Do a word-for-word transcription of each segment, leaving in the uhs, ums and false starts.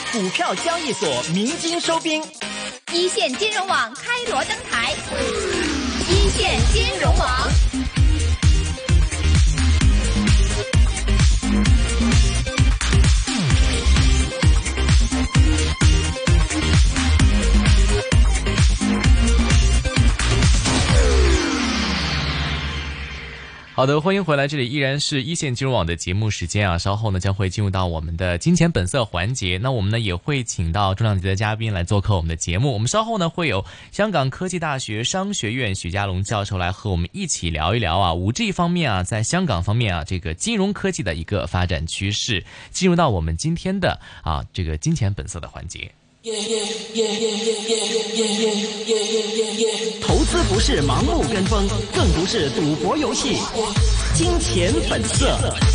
股票交易所鸣金收兵， 一線金融網開鑼登台，一線金融網。 好的，歡迎回來，這裡依然是一線金融網的節目時間啊，稍後呢將會進入到我們的金錢本色環節，那我們呢也會請到重量級的嘉賓來做客我們的節目，我們稍後呢會有香港科技大學商學院許家龍教授來和我們一起聊一聊啊 五 G 方面啊，在香港方面啊，這個金融科技的一個發展趨勢，進入到我們今天的啊這個金錢本色的環節。 投資不是盲目跟風，更不是賭博遊戲。金錢本色。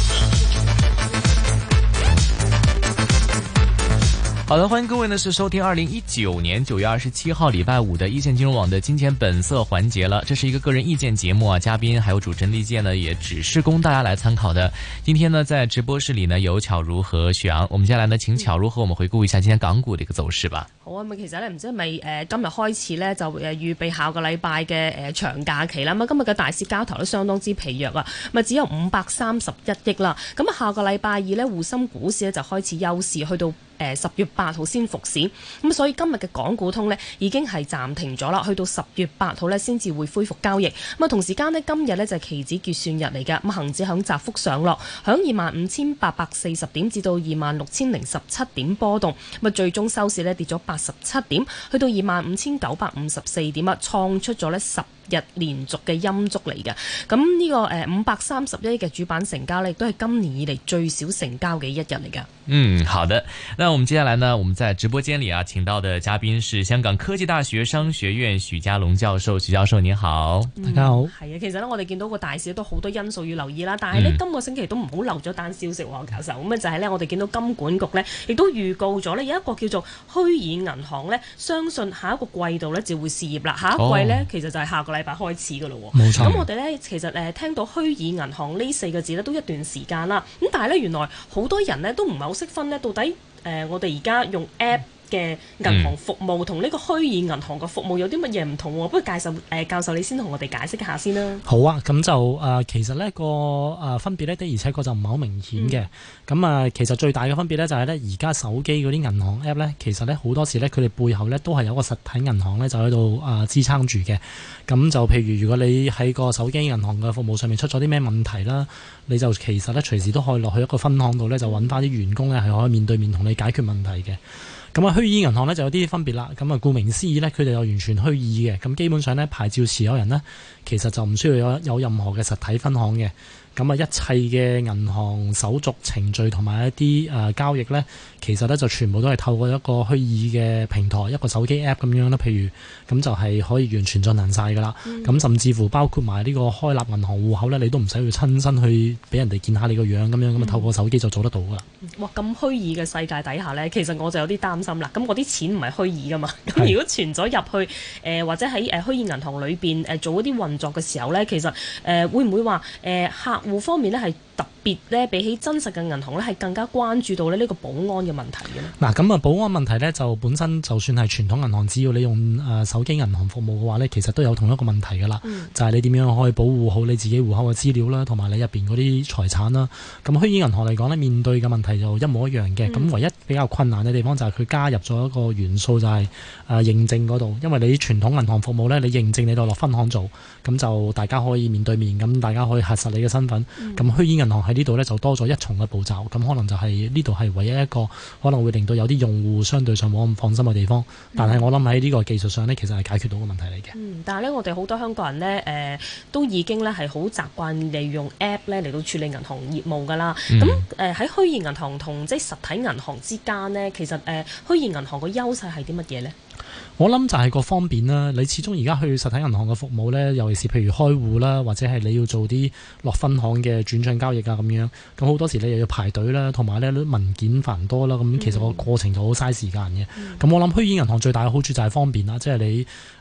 好的，歡迎各位呢是收聽二零一九年九月二十七號禮拜五的一線金融網的金錢本色環節了。這是一個個人意見節目啊，嘉賓還有主持人意見呢也只是供大家來參考的。今天呢在直播室裏呢有巧如和許昂，我們接下來呢請巧如和我們回顧一下今天港股的一個走勢吧。 好啊，咁其實咧唔知係咪誒今日開始咧就誒預備下個禮拜嘅誒長假期啦。咁今日嘅大市交投都相當之疲弱啊，咁啊只有五百三十一億啦。咁啊下個禮拜二咧滬深股市咧就開始休市，去到誒十月八號先復市。咁所以今日嘅港股通咧已經係暫停咗啦，去到十月八號咧先至會恢復交易。咁啊同時間呢，今日咧就係期指結算日嚟㗎。咁恆指響窄幅上落，響二萬五千八百四十點至到二萬六千零十七點波動。咁啊最終收市咧跌咗八十七點，去到二萬五千九百五十四點啊，創出咗咧十日連續嘅陰燭嚟嘅。咁呢個誒五百三十一億嘅主板成交呢，亦都係今年以嚟最少成交嘅一日嚟㗎。 嗯，好的。那我們接下來呢，我們在直播間裏啊，請到的嘉賓是香港科技大學商學院許家龍教授。許教授您好， 嗯、 大家好。 係啊，其實呢，我哋見到個大市都好多因素要留意啦。但係呢，嗯、今個星期都唔好漏咗單消息喎，教授。咁啊就係呢，我哋見到金管局呢，亦都預告咗呢，有一個叫做虛擬銀行呢，相信下一個季度呢就會試業啦。下一季呢，哦、其實就係下個禮拜開始㗎咯。 冇錯。 咁我哋呢，其實誒聽到虛擬銀行呢四個字呢，都一段時間啦。咁但係呢，原來好多人呢，都唔係好識分呢，到底誒、呃、我哋而家用 App 嘅銀行服務同呢個虛擬銀行嘅服務有啲乜嘢唔同喎？不如介紹誒、呃、教授你先同我哋解釋一下先啦。 好啊，咁就誒、呃、其實呢個誒、呃、分別呢，的而且確就唔係好明顯嘅。咁啊、嗯呃，其實最大嘅分別呢，就係呢而家手機嗰啲銀行 App 呢，其實呢好多時呢，佢哋背後呢都係有個實體銀行呢，就喺度誒支撐住嘅。咁就譬如如果你喺個手機銀行嘅服務上面出咗啲咩問題啦，你就其實呢隨時都可以落去一個分行度呢，就揾翻啲員工呢，係可以面對面同你解決問題嘅。咁啊，虛擬銀行咧就有啲分別啦。咁啊，顧名思義咧，佢哋有完全虛擬嘅。咁基本上咧，牌照持有人呢，其實就唔需要有有任何嘅實體分行嘅。咁啊，一切嘅銀行手續程序同埋一啲誒、呃、交易咧，其實咧就全部都係透過一個虛擬嘅平台，一個手機 app 咁樣啦。譬如咁就係可以完全進行晒噶啦。咁、嗯、甚至乎包括埋呢個開立銀行戶口咧，你都唔使去親身去俾人哋見下你個樣咁樣，咁啊透過手機就做得到噶啦。 哇！咁虛擬嘅世界底下咧，其實我就有啲擔心啦。咁我啲錢唔係虛擬噶嘛，咁如果存咗入去誒、呃、或者喺誒虛擬銀行裏邊誒做一啲運作嘅時候咧，其實誒、呃、會唔會話誒、呃、客戶方面咧係特別咧比起真實嘅銀行咧係更加關注到咧呢個保安嘅問題嘅咧？ 嗱，咁啊保安問題咧就本身就算係傳統銀行，只要你用誒手機銀行服務嘅話咧，其實都有同一個問題噶啦，嗯、就係你點樣可以保護好你自己戶口嘅資料啦，同埋你入邊嗰啲財產啦。咁虛擬銀行嚟講咧，面對嘅問題就一模一樣嘅。咁、嗯、唯一比較困難嘅地方就係佢加入咗一個元素，就係誒認證嗰度。因為你傳統銀行服務咧，你認證你就落分行做，咁就大家可以面對面，咁大家可以核實你嘅身份。咁、嗯、虛擬銀行喺呢度咧就多咗一重嘅步驟，咁可能就係呢度係唯一一個可能會令到有啲用戶相對上冇咁放心嘅地方。但係我諗喺呢個技術上呢，其實係解決到個問題嚟嘅。 嗯，但係呢，我哋好多香港人呢，誒、呃、都已經呢係好習慣利用 App 呢嚟到處理銀行業務㗎啦。咁誒喺虛擬銀行同即係實體銀行之間呢，其實誒、呃、虛擬銀行個優勢係啲乜嘢呢？ 我諗就係個方便啦，你始終而家去實體銀行嘅服務呢，尤其是譬如開戶啦，或者係你要做啲落分行嘅轉賬交易啊咁樣，咁好多時你又要排隊啦，同埋呢文件繁多啦，咁其實個過程就好嘥時間嘅。咁、嗯、我諗虛擬銀行最大嘅好處就係方便啦，即係你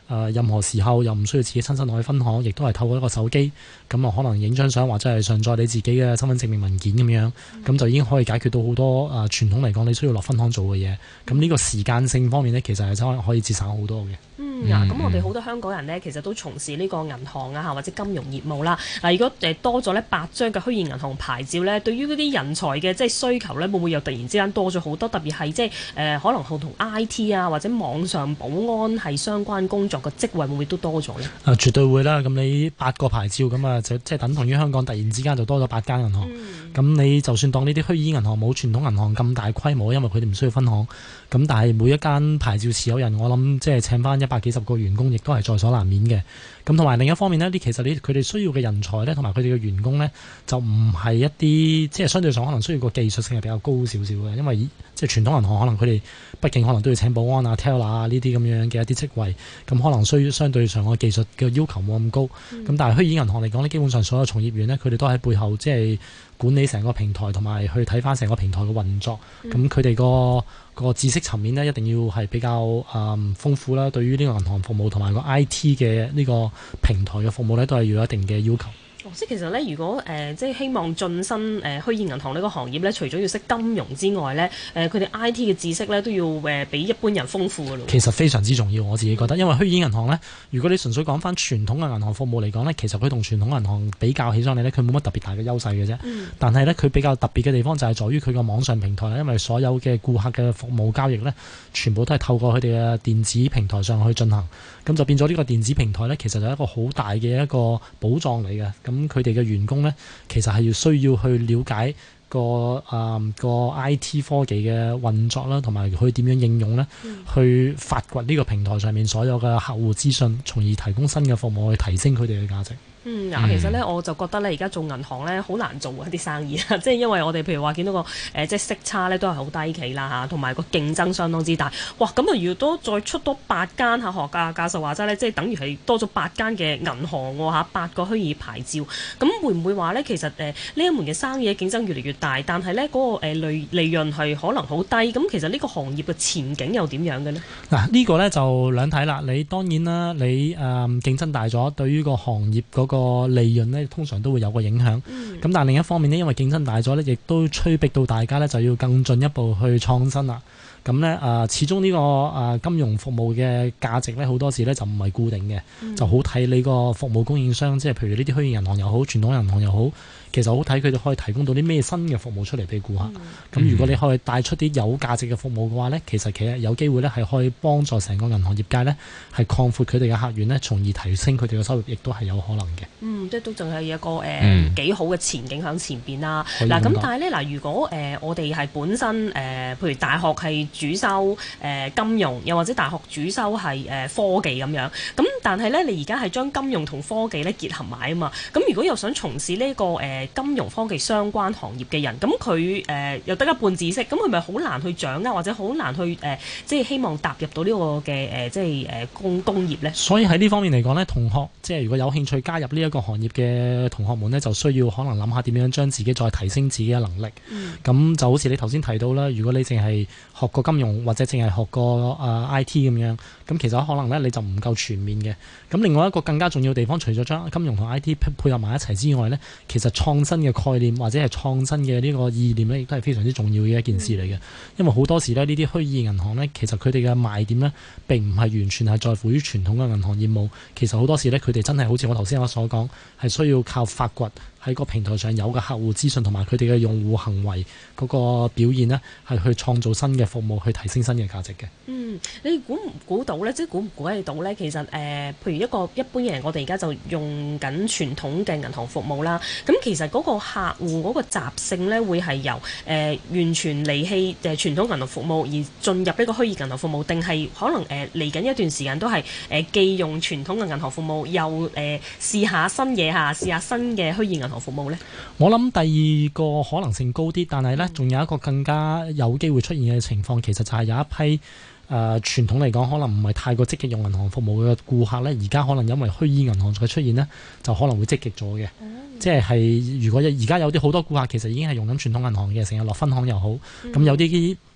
呃、任何時候又唔需要自己親身落去分行，亦都係透過一個手機，咁啊可能影張相或者係上載你自己嘅身份證明文件咁樣，咁、嗯、就已經可以解決到好多啊、呃、傳統嚟講你需要落分行做嘅嘢。咁呢個時間性方面呢，其實係真係可以節省好多嘅。 嗯，嗱、嗯，咁我哋好多香港人呢，其實都從事呢個銀行啊，或者金融業務啦。嗱，如果誒多咗呢八張嘅虛擬銀行牌照呢，對於嗰啲人才嘅即係需求呢，會唔會又突然之間多咗好多？特別係即係誒可能同同 I T 啊或者網上保安係相關工作嘅職位，會唔會都多咗呢？ 啊，絕對會啦！咁你八個牌照咁啊，就即係等同於香港突然之間就多咗八間銀行。咁、嗯、你就算當呢啲虛擬銀行冇傳統銀行咁大規模，因為佢哋唔需要分行。咁但係每一間牌照持有人，我諗即係請翻一百幾十個員工，亦都係在所難免嘅。咁同埋另一方面呢，啲其實你佢哋需要嘅人才呢，同埋佢哋嘅員工呢，就唔係一啲即係相對上可能需要個技術性係比較高少少嘅，因為即係傳統銀行可能佢哋畢竟可能都要請保安啊、teller 啊呢啲咁樣嘅一啲職位，咁可能需要相對上個技術嘅要求冇咁高。咁、嗯、但係虛擬銀行嚟講呢，基本上所有從業員呢，佢哋都喺背後即係管理成個平台，同埋去睇翻成個平台嘅運作。咁佢哋個個知識層面呢，一定要係比較誒、嗯、豐富啦。對於呢個銀行服務同埋個 I T 嘅呢個平台嘅服務呢，都係要有一定嘅要求。 即係其實咧，如果誒、呃、即係希望晉身誒虛擬銀行呢個行業咧，除咗要識金融之外咧，誒佢哋 I T 嘅知識咧都要誒、呃、比一般人豐富㗎咯。其實非常之重要，我自己覺得，因為虛擬銀行咧，如果你純粹講翻傳統嘅銀行服務嚟講咧，其實佢同傳統銀行比較起上嚟咧，佢冇乜特別大嘅優勢嘅啫。嗯、但係咧，佢比較特別嘅地方就係在於佢個網上平台啦，因為所有嘅顧客嘅服務交易咧，全部都係透過佢哋嘅電子平台上去進行，咁就變咗呢個電子平台咧，其實就係一個好大嘅一個寶藏嚟嘅。咁佢哋嘅員工咧，其實係要需要去了解個誒、嗯、個 I T 科技嘅運作啦，同埋佢點樣應用咧，嗯、去發掘呢個平台上面所有嘅客戶資訊，從而提供新嘅服務去提升佢哋嘅價值。 嗯，嗱，其實咧我就覺得咧，而家做銀行咧好難做一啲生意啊，即係因為我哋譬如話見到個誒、呃、即係息差咧都係好低企啦嚇，同埋個競爭相當之大。哇，咁啊，如果再出多八間嚇學家教授話齋咧，即係等於係多咗八間嘅銀行喎嚇，八個虛擬牌照，咁會唔會話咧其實誒呢、呃、一門嘅生意嘅競爭越嚟越大，但係咧嗰個誒利利潤係可能好低，咁其實呢個行業嘅前景又點樣嘅呢？嗱、啊， 呢個咧就兩睇啦。你當然啦，你誒、呃、競爭大咗，對於個行業嗰、嗰個個利潤呢，通常都會有個影響。咁、嗯、但係另一方面呢，因為競爭大咗呢，亦都催逼到大家呢，就要更進一步去創新啦。咁呢，誒，始終呢個誒金融服務嘅價值呢，好多時呢就唔係固定嘅，嗯、就好睇你個服務供應商，即係譬如呢啲虛擬銀行又好，傳統銀行又好。其實好睇佢哋可以提供到啲咩新嘅服務出嚟俾顧客。咁、嗯、如果你可以帶出啲有價值嘅服務嘅話呢，其實其實有機會呢係可以幫助成個銀行業界呢係擴闊佢哋嘅客源呢，從而提升佢哋嘅收入，亦都係有可能嘅。嗯， 即係都仲係一個誒、呃、幾好嘅前景喺前邊啦。嗱咁，但係呢，嗱，如果誒、呃、我哋係本身誒、呃，譬如大學係主修誒、呃、金融，又或者大學主修係誒、呃、科技咁樣，咁但係呢，你而家係將金融同科技呢結合埋啊嘛。咁如果又想從事呢、這個誒、呃金融科技相關行業嘅人，咁佢誒又得一半知識，咁佢咪好難去掌握，或者好難去誒、呃，即係希望踏入到呢個嘅誒、呃，即係誒工工業咧。 所以喺呢方面嚟講呢，同學即係如果有興趣加入呢一個行業嘅同學們呢，就需要可能諗下點樣將自己再提升自己嘅能力。咁、嗯、就好似你頭先提到啦，如果你淨係學過金融或者淨係學過誒 I T 咁樣，咁其實可能呢你就唔夠全面嘅。咁另外一個更加重要嘅地方，除咗將金融同 I T 配合埋一齊之外呢，其實創新嘅概念或者係創新嘅呢個意念呢，亦都係非常之重要嘅一件事嚟嘅。因為好多時呢，呢啲虛擬銀行呢，其實佢哋嘅賣點呢並唔係完全係在乎於傳統嘅銀行業務。其實好多時呢，佢哋真係好似我頭先我所講，係需要靠發掘喺個平台上有嘅客戶資訊同埋佢哋嘅用戶行為嗰個表現呢，係去創造新嘅服務，去提升新嘅價值嘅。 嗯，你估唔估到呢？即係估唔估得到呢？其實誒、呃，譬如一個一般嘅人，我哋而家就用緊傳統嘅銀行服務啦。咁其實嗰個客戶嗰個習性呢，會係由誒、呃、完全離棄誒傳統銀行服務而進入呢個虛擬銀行服務，定係可能誒嚟緊一段時間都係誒、呃、既用傳統嘅銀行服務，又誒、呃、試下新嘢嚇，試下新嘅虛擬銀行服務呢？ 我諗第二個可能性高啲，但係呢，仲有一個更加有機會出現嘅情況，其實就係有一批誒、呃、傳統嚟講可能唔係太過積極用銀行服務嘅顧客呢，而家可能因為虛擬銀行嘅出現呢，就可能會積極咗嘅。嗯、即係如果而家有啲好多顧客其實已經係用緊傳統銀行嘅，成日落分行又好，咁、嗯、有啲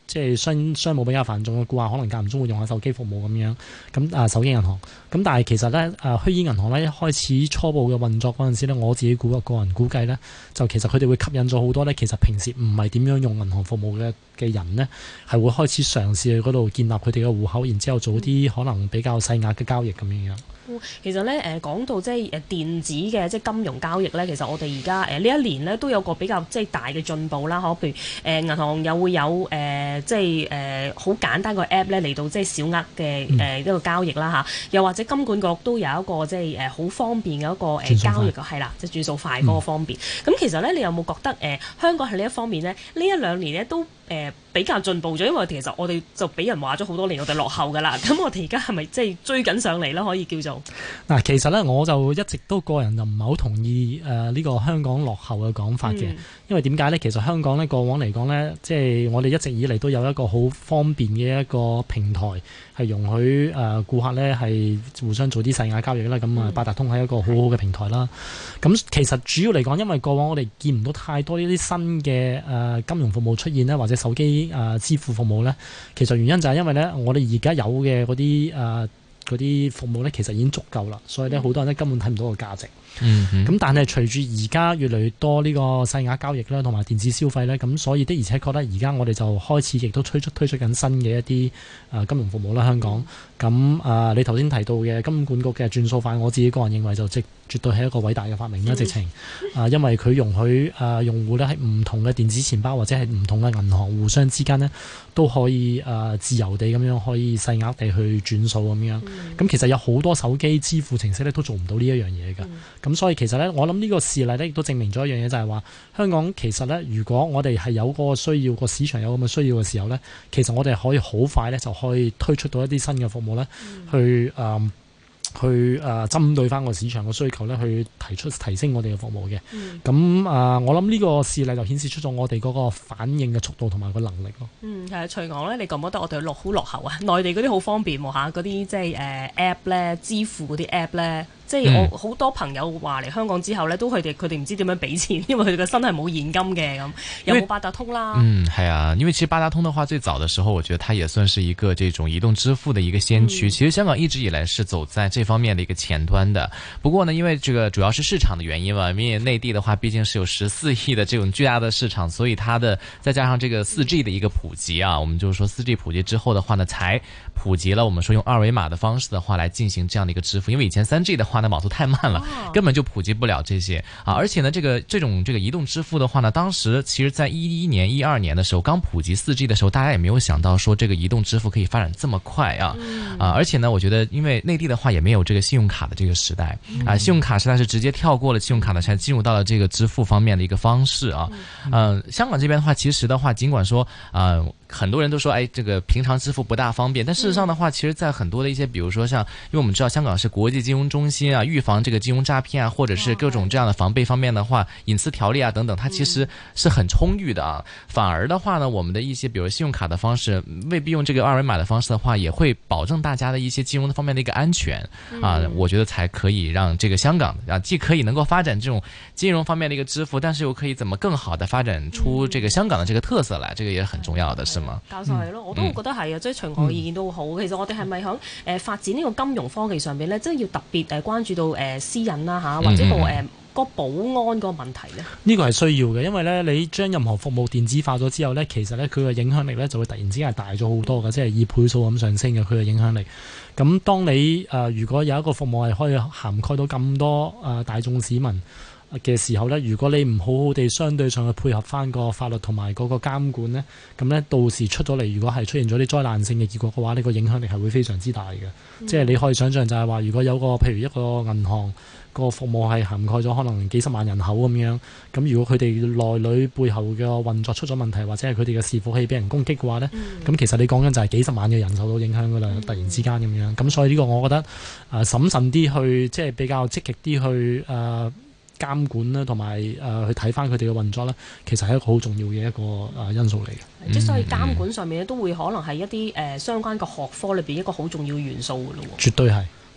即係商商務比較繁重嘅顧客，可能間唔中會用下手機服務咁樣。咁啊手機銀行，咁但係其實咧啊虛擬銀行咧一開始初步嘅運作嗰陣時咧，我自己估個人估計咧，就其實佢哋會吸引咗好多咧，其實平時唔係點樣用銀行服務嘅嘅人呢，係會開始嘗試去嗰度建立佢哋嘅戶口，然之後做啲可能比較細額嘅交易咁樣樣。 其實咧誒講到即係誒電子嘅即係金融交易咧，其實我哋而家誒呢一年咧都有個比較即係大嘅進步啦，可譬如誒銀行又會有誒、呃、即係誒好簡單個 app 咧嚟到即係小額嘅誒一個交易啦嚇，又或者金管局都有一個即係誒好方便嘅一個誒交易嘅係啦，即係轉數快嗰個方便。咁、嗯、其實咧，你有冇覺得誒、呃、香港喺呢一方面咧，呢一兩年咧都誒、呃、比較進步咗？因為其實我哋就俾人話咗好多年，我哋落後㗎啦。咁我哋而家係咪即係追緊上嚟啦？可以叫做嗱，其實咧我就一直都個人就唔係好同意誒呢、呃這個香港落後嘅講法嘅，嗯、因為點解咧？其實香港咧過往嚟講咧，即係我哋一直以嚟都有一個好方便嘅一個平台，係容許誒顧客咧係互相做啲細額交易啦。咁啊八達通係一個好好嘅平台啦。咁、嗯、其實主要嚟講，因為過往我哋見唔到太多呢啲新嘅誒金融服務出現咧，或者手機誒支付服務咧，其實原因就係因為咧我哋而家有嘅嗰啲誒嗰啲服務咧，其實已經足夠啦，所以咧好多人咧根本睇唔到個價值。嗯，咁但係隨住而家越嚟越多呢個細額交易啦，同埋電子消費咧，咁所以的而且確咧，而家我哋就開始亦都推出推出緊新嘅一啲誒金融服務啦，香港。咁啊，你頭先提到嘅金管局嘅轉數快，我自己個人認為就即絕對係一個偉大嘅發明啦，直情啊，因為佢容許啊用戶咧喺唔同嘅電子錢包或者係唔同嘅銀行互相之間呢，都可以啊自由地咁樣可以細額地去轉數咁樣。咁、嗯、其實有好多手機支付程式咧都做唔到呢一樣嘢㗎。咁、嗯、所以其實咧，我諗呢個事例咧亦都證明咗一樣嘢，就係話香港其實咧，如果我哋係有嗰個需要，個市場有咁嘅需要嘅時候咧，其實我哋可以好快咧就可以推出到一啲新嘅服務咧，嗯、去誒。呃去誒、呃、針對翻個市場嘅需求咧，去提出提升我哋嘅服務嘅。咁誒、嗯呃，我諗呢個事例就顯示出咗我哋嗰個反應嘅速度同埋個能力咯。嗯，係徐昂咧，你覺唔覺得我哋落好落後啊？內地嗰啲好方便喎嚇，嗰啲即係誒 app 咧，支付嗰啲 app 咧。即係我好多朋友話嚟香港之後呢，都佢哋佢哋唔知點樣俾錢，因為佢哋個身係冇現金嘅咁，有冇八達通啦？ 嗯，係啊，因為其實八達通的話，最早的時候，我覺得它也算是一個這種移動支付的一個先驅。嗯、其實香港一直以來是走在這方面的一個前端的。不過呢，因為這個主要是市場的原因嘛，因為內地的話畢竟是有十四億的這種巨大的市場，所以它的再加上這個四 G 的一個普及啊，我們就是說四 G 普及之後的話呢，才普及了我們說用二維碼的方式的話來進行這樣的一個支付。因為以前三 G 的話呢，網速太慢了，根本就普及不了這些啊！而且呢，這個這種這個移動支付的話呢，當時其實在一一年、一二年的時候，剛普及四 G 的時候，大家也沒有想到說這個移動支付可以發展這麼快啊！啊，而且呢，我覺得因為內地的話也沒有這個信用卡的這個時代啊，信用卡時代是直接跳過了信用卡的，才進入到了這個支付方面的一個方式啊。嗯，香港這邊的話，其實的話，盡管說啊，很多人都說，哎，這個平常支付不大方便，但事實上的話，其實在很多的一些，比如說像，因為我們知道香港是國際金融中心啊，預防這個金融詐騙啊，或者是各種這樣的防備方面的話，隱私條例啊等等，它其實是很充裕的啊。反而的話呢，我們的一些比如信用卡的方式，未必用這個二維碼的方式的話，也會保證大家的一些金融方面的一個安全啊。我覺得才可以讓這個香港啊，既可以能夠發展這種金融方面的一個支付，但是又可以怎麼更好的發展出這個香港的這個特色來，這個也是很重要的，是嗎？ 教授係咯，我都覺得係啊，即係隨我意見都好。其實我哋係咪響誒發展呢個金融科技上邊咧，即係要特別誒關注到誒私隱啦嚇，或者個誒個保安個問題咧？ 呢個係需要嘅，因為咧你將任何服務電子化咗之後咧，其實咧佢嘅影響力咧就會突然之間係大咗好多嘅，即係以倍數咁上升嘅佢嘅影響力。咁當你誒、呃、如果有一個服務係可以涵蓋到咁多誒、呃、大眾市民嘅時候呢，如果你唔好好地相對上去配合翻個法律同埋嗰個監管呢，咁呢到時出咗嚟，如果係出現咗啲災難性嘅結果嘅話，呢個影響力係會非常之大嘅。嗯、即係你可以想象就係話，如果有個譬如一個銀行個服務係涵蓋咗可能幾十萬人口咁樣，咁如果佢哋內裏背後嘅運作出咗問題，或者係佢哋嘅伺服器俾人攻擊嘅話呢，咁、嗯、其實你講緊就係幾十萬嘅人受到影響噶啦，嗯、突然之間咁樣。咁所以呢個我覺得誒、呃、審慎啲去，即係比較積極啲去誒。呃監管啦，同埋誒去睇翻佢哋嘅運作啦，其實係一個好重要嘅一個誒因素嚟嘅。 即係所以監管上面咧，都會可能係一啲誒相關嘅學科裏邊一個好重要嘅元素嘅咯。 絕對係。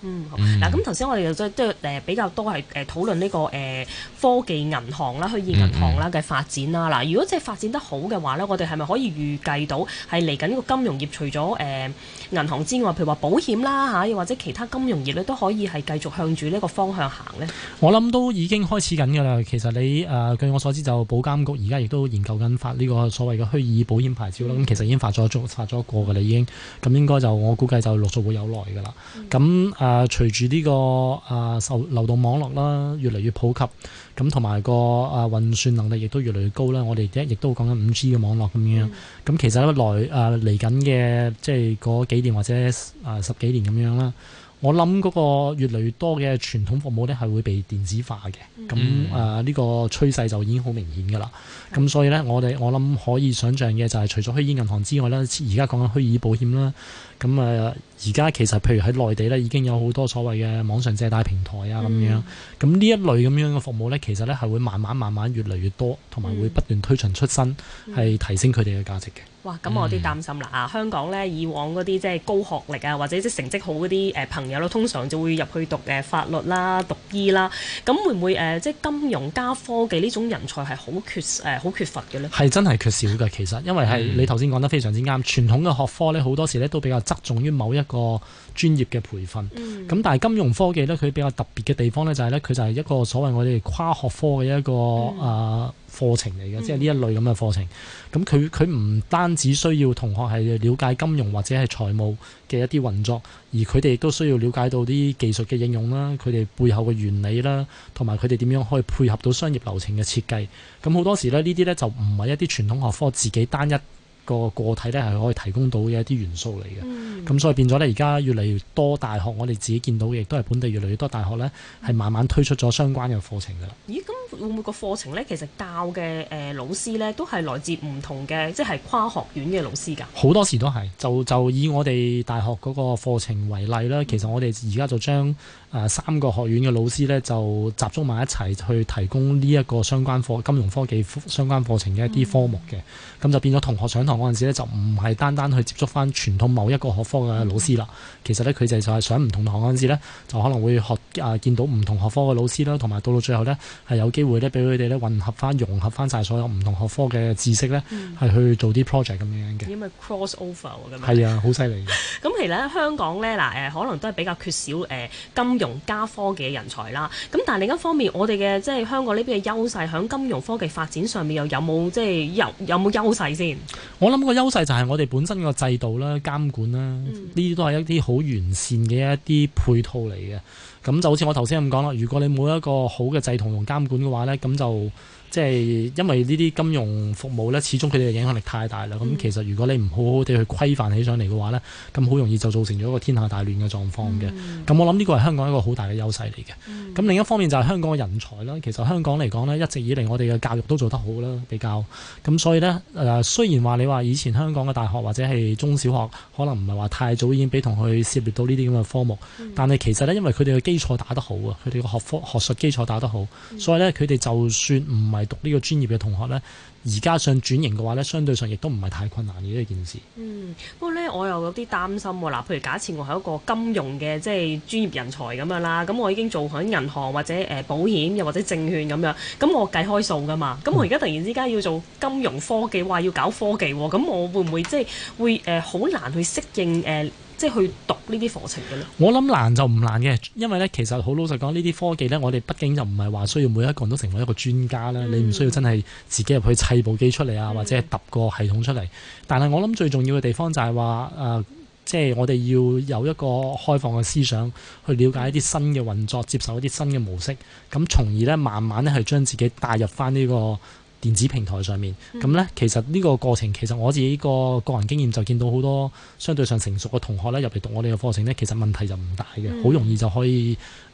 嗯，嗱，咁頭先我哋就即係誒比較多係誒討論呢個誒科技銀行啦、虛擬銀行啦嘅發展啦。嗱、嗯，如果即係發展得好嘅話咧，我哋係咪可以預計到係嚟緊呢個金融業除咗誒銀行之外，譬如話保險啦嚇，又或者其他金融業咧，都可以係繼續向住呢個方向行呢？ 我諗都已經開始緊㗎啦。其實你誒、呃、據我所知，就保監局而家亦都研究緊發呢個所謂嘅虛擬保險牌照啦。咁、嗯、其實已經發咗發咗過㗎啦，已經咁應該就我估計就陸續會有來㗎啦。咁誒、嗯。誒，隨住呢個誒受流動網絡啦，越嚟越普及，咁同埋個誒運算能力亦都越嚟越高啦。我哋亦亦都講緊五 G 嘅網絡咁樣。咁、嗯、其實咧來誒嚟緊嘅即係嗰幾年或者誒十幾年咁樣啦。我諗嗰個越嚟越多嘅傳統服務咧係會被電子化嘅。咁誒呢個趨勢就已經好明顯㗎啦。咁、嗯、所以咧，我哋我諗可以想像嘅就係除咗虛擬銀行之外咧，而家講緊虛擬保險啦。咁誒，而家其實譬如喺內地咧，已經有好多所謂嘅網上借貸平台啊咁樣。咁呢、嗯、一類咁樣嘅服務咧，其實咧係會慢慢慢慢越嚟越多，同埋會不斷推陳出新，係、嗯、提升佢哋嘅價值嘅。 哇！咁我有啲擔心啦啊！香港咧以往嗰啲即係高學歷啊，或者即係成績好嗰啲誒朋友咯，通常就會入去讀誒法律啦、讀醫啦。咁會唔會誒、呃、即係金融加科技呢種人才係好缺誒好、呃、缺乏嘅咧？係真係缺少嘅，其實因為係、嗯、你頭先講得非常之啱。傳統嘅學科咧好多時咧都比較側重於某一個專業嘅培訓。咁、嗯、但係金融科技咧佢比較特別嘅地方咧就係咧佢就係一個所謂我哋跨學科嘅一個誒。嗯呃課程嚟嘅，即係呢一類咁嘅課程。咁佢佢唔單止需要同學係了解金融或者係財務嘅一啲運作，而佢哋亦都需要了解到啲技術嘅應用啦，佢哋背後嘅原理啦，同埋佢哋點樣可以配合到商業流程嘅設計。咁好多時咧，呢啲咧就唔係一啲傳統學科自己單一個個體咧係可以提供到嘅一啲元素嚟嘅。咁、嗯、所以變咗咧，而家越嚟越多大學，我哋自己見到嘅亦都係本地越嚟越多大學咧，係慢慢推出咗相關嘅課程㗎啦。咦？咁會唔會個課程咧，其實教嘅誒、呃、老師咧，都係來自唔同嘅，即係跨學院嘅老師㗎？好多時都係，就就以我哋大學嗰個課程為例啦。其實我哋而家就將誒、呃、三個學院嘅老師咧，就集中埋一齊去提供呢一個相關課金融科技相關課程嘅一啲科目嘅。咁、嗯、就變咗同學上堂嗰陣時咧，就唔係單單去接觸翻傳統某一個學科嘅老師啦。嗯、其實咧，佢哋就係上唔同堂嗰陣時咧，就可能會學啊、呃、見到唔同學科嘅老師啦，同埋到到最後咧係有機會咧俾佢哋咧混合翻、融合翻晒所有唔同學科嘅知識咧，係、嗯、去做啲 project 咁樣嘅。因為 cross over 咁樣。係啊，好犀利。咁其實咧，香港咧嗱誒，可能都係比較缺少誒、呃、金融加科技嘅人才啦。咁但係另一方面，我哋嘅即係香港呢邊嘅優勢，喺金融科技發展上面又有冇即係有有冇優勢先？我諗個優勢就係我哋本身個制度啦、監管啦，呢啲、嗯、都係一啲好完善嘅一啲配套嚟嘅。咁就好似我頭先咁講啦，如果你冇一個好嘅制度同監管嘅話咧，咁就即係因為呢啲金融服務咧，始終佢哋嘅影響力太大啦。咁、嗯、其實如果你唔好好地去規範起上嚟嘅話咧，咁好容易就造成咗一個天下大亂嘅狀況嘅。咁、嗯、我諗呢個係香港一個好大嘅優勢嚟嘅。咁、嗯、另一方面就係香港嘅人才啦。其實香港嚟講咧，一直以嚟我哋嘅教育都做得好啦，比較咁所以咧誒、呃，雖然話你話以前香港嘅大學或者係中小學可能唔係話太早已經俾同佢涉獵到呢啲咁嘅科目，嗯、但係其實咧，因為佢哋嘅基礎打得好啊，佢哋嘅學科學術基礎打得好，嗯、所以咧佢哋就算唔係讀呢個專業嘅同學咧，而家想轉型嘅話咧，相對上亦都唔係太困難嘅呢件事。嗯，不過咧我又有啲擔心喎。嗱，譬如假設我係一個金融嘅即係專業人才咁樣啦，咁我已經做喺銀行或者誒、呃、保險又或者證券咁樣，咁我計開數㗎嘛。咁我而家突然之間要做金融科技，話要搞科技喎，咁我會唔會即係會誒好、呃、難去適應誒？呃即係去讀呢啲課程嘅咧，我諗難就唔難嘅，因為咧其實好老實講，呢啲科技咧，我哋畢竟就唔係話需要每一個人都成為一個專家啦。嗯、你唔需要真係自己入去砌部機出嚟啊，嗯、或者係揼個系統出嚟。但係我諗最重要嘅地方就係話誒，即係我哋要有一個開放嘅思想，去了解一啲新嘅運作，接受一啲新嘅模式，咁從而咧慢慢咧係將自己帶入翻呢個電子平台上面，咁呢、嗯，其實呢個過程，其實我自己個個人經驗就見到好多相對上成熟嘅同學咧入嚟讀我哋嘅課程呢，其實問題就唔大嘅，好、嗯、容易就可以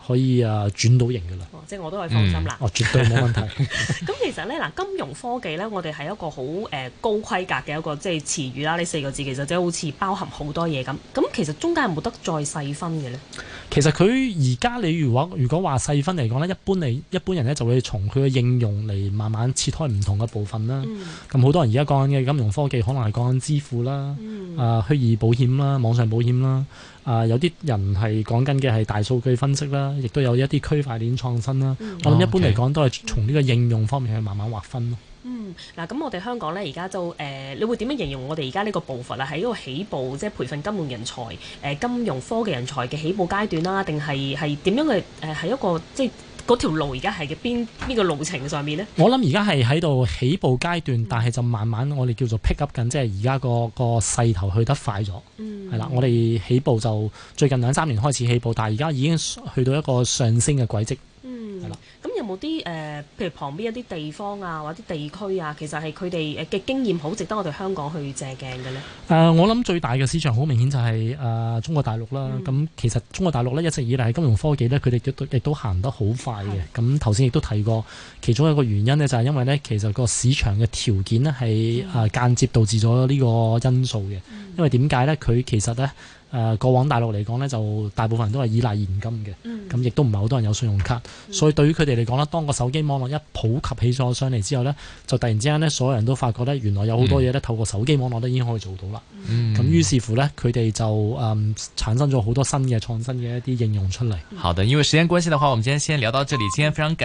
可以啊轉到型噶啦。 哦，即係我都可以放心啦。 哦，絕對冇問題。 咁其實咧嗱，金融科技咧，我哋係一個好誒高規格嘅一個即係詞語啦。呢四個字其實即係好似包含好多嘢咁。咁其實中間有冇得再細分嘅咧？ 其實佢而家你如果如果話細分嚟講咧，一般嚟一般人咧就會從佢嘅應用嚟慢慢切開唔同嘅部分啦。咁好、嗯、多人而家講緊嘅金融科技，可能係講緊支付啦，啊、嗯呃、虛擬保險啦、網上保險啦，啊、呃、有啲人係講緊嘅係大數據分析啦，亦都有一啲區塊鏈創新啦。嗯、我諗一般嚟講都係從呢個應用方面去慢慢劃分咯。 嗯，嗱，咁我哋香港咧而家就誒、呃，你會點樣形容我哋而家呢個步伐啊？喺一個起步，即係培訓金融人才、誒、呃、金融科技人才嘅起步階段啦，定係係點樣嘅？誒、呃、係一個即係嗰條路而家係嘅邊邊個路程上面呢？ 我諗而家係喺度起步階段，但係就慢慢我哋叫做 pick up 緊，即係而家個個勢頭去得快咗。嗯，係啦，我哋起步就最近兩三年開始起步，但係而家已經去到一個上升嘅軌跡。 嗯，係啦。咁有冇啲誒，譬如旁邊一啲地方啊，或者地區啊，其實係佢哋誒嘅經驗好值得我哋香港去借鏡嘅呢？ 誒、呃，我諗最大嘅市場好明顯就係、是、誒、呃、中國大陸啦。咁、嗯、其實中國大陸咧一直以嚟金融科技咧，佢哋亦都亦都行得好快嘅。咁頭先亦都提過，其中一個原因呢，就係因為咧，其實個市場嘅條件咧係誒間接導致咗呢個因素嘅。嗯、因為點解咧？佢其實咧。誒、呃、過往大陸嚟講呢，就大部分人都係依賴現金嘅，咁亦、嗯、都唔係好多人有信用卡，嗯、所以對於佢哋嚟講呢，當個手機網絡一普及起咗上嚟之後呢，就突然之間呢，所有人都發覺呢，原來有好多嘢呢，透過手機網絡都已經可以做到啦。咁、嗯、於是乎呢，佢哋就誒、嗯、產生咗好多新嘅創新嘅一啲應用出嚟。 好的，因為時間關係的話，我們今天先聊到這裡。今天非常感